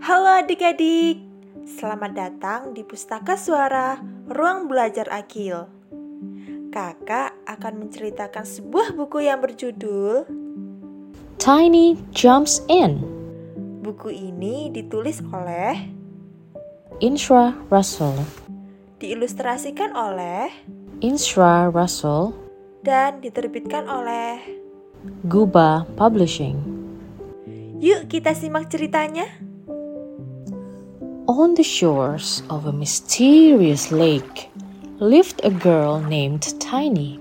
Halo adik-adik, selamat datang di Pustaka Suara Ruang Belajar Akil. Kakak akan menceritakan sebuah buku yang berjudul Tiny Jumps In. Buku ini ditulis oleh Inshra Russell. diilustrasikan oleh Inshra Russell. dan diterbitkan oleh Guba Publishing. Yuk kita simak ceritanya. On the shores of a mysterious lake lived a girl named Tiny.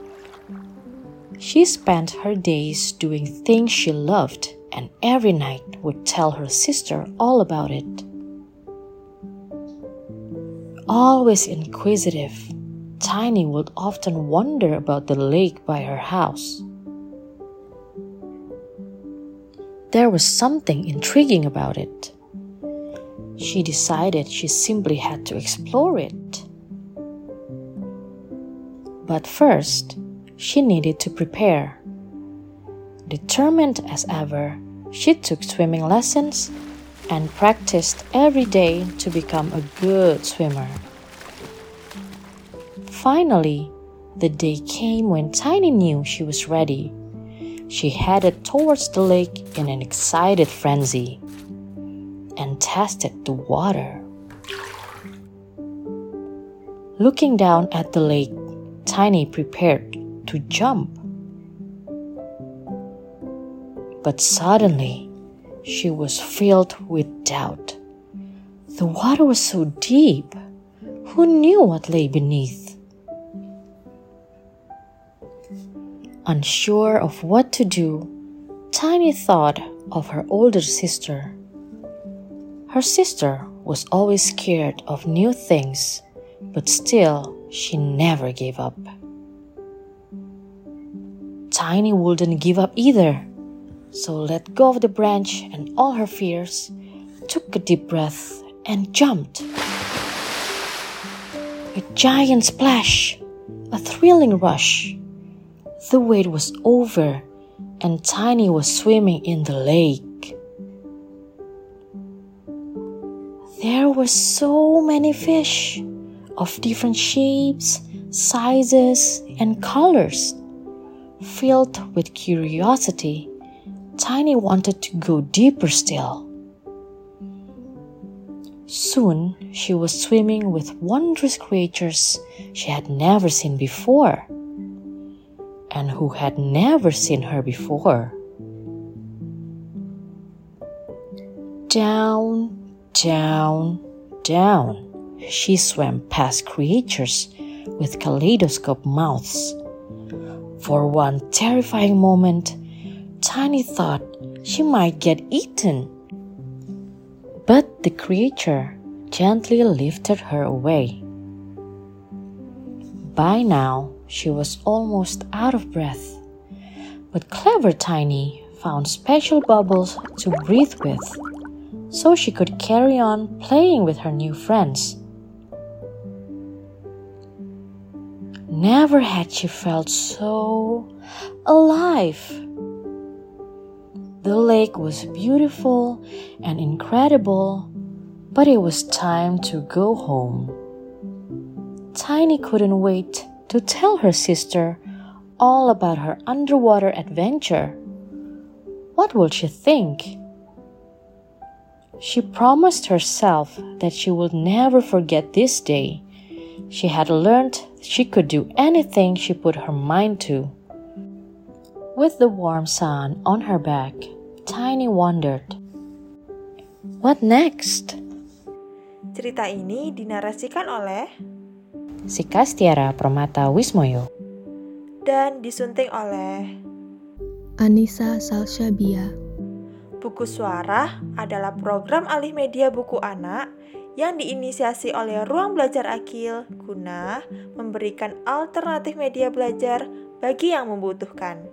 She spent her days doing things she loved and every night would tell her sister all about it. Always inquisitive, Tiny would often wonder about the lake by her house. There was something intriguing about it. She decided she simply had to explore it. But first, she needed to prepare. Determined as ever, she took swimming lessons and practiced every day to become a good swimmer. Finally, the day came when Tiny knew she was ready. She headed towards the lake in an excited frenzy and tested the water. Looking down at the lake, Tiny prepared to jump. But suddenly, she was filled with doubt. The water was so deep. Who knew what lay beneath? Unsure of what to do, Tiny thought of her older sister. Her sister was always scared of new things, but still she never gave up. Tiny wouldn't give up either, so let go of the branch and all her fears, took a deep breath and jumped. A giant splash, a thrilling rush. The wait was over and Tiny was swimming in the lake. There were so many fish of different shapes, sizes, and colors. Filled with curiosity, Tiny wanted to go deeper still. Soon, she was swimming with wondrous creatures she had never seen before, and who had never seen her before. Down, down, down, she swam past creatures with kaleidoscope mouths. For one terrifying moment, Tiny thought she might get eaten. But the creature gently lifted her away. By now, she was almost out of breath, but clever Tiny found special bubbles to breathe with, so she could carry on playing with her new friends. Never had she felt so alive. The lake was beautiful and incredible, but it was time to go home. Tiny couldn't wait to tell her sister all about her underwater adventure. What will she think? She promised herself that she would never forget this day. She had learned she could do anything she put her mind to. With the warm sun on her back, Tiny wondered, what next? Cerita ini dinarasikan oleh Sikastiara Permata Wismoyo dan disunting oleh Anissa Salsabia. Buku Suara adalah program alih media buku anak yang diinisiasi oleh Ruang Belajar Akil guna memberikan alternatif media belajar bagi yang membutuhkan.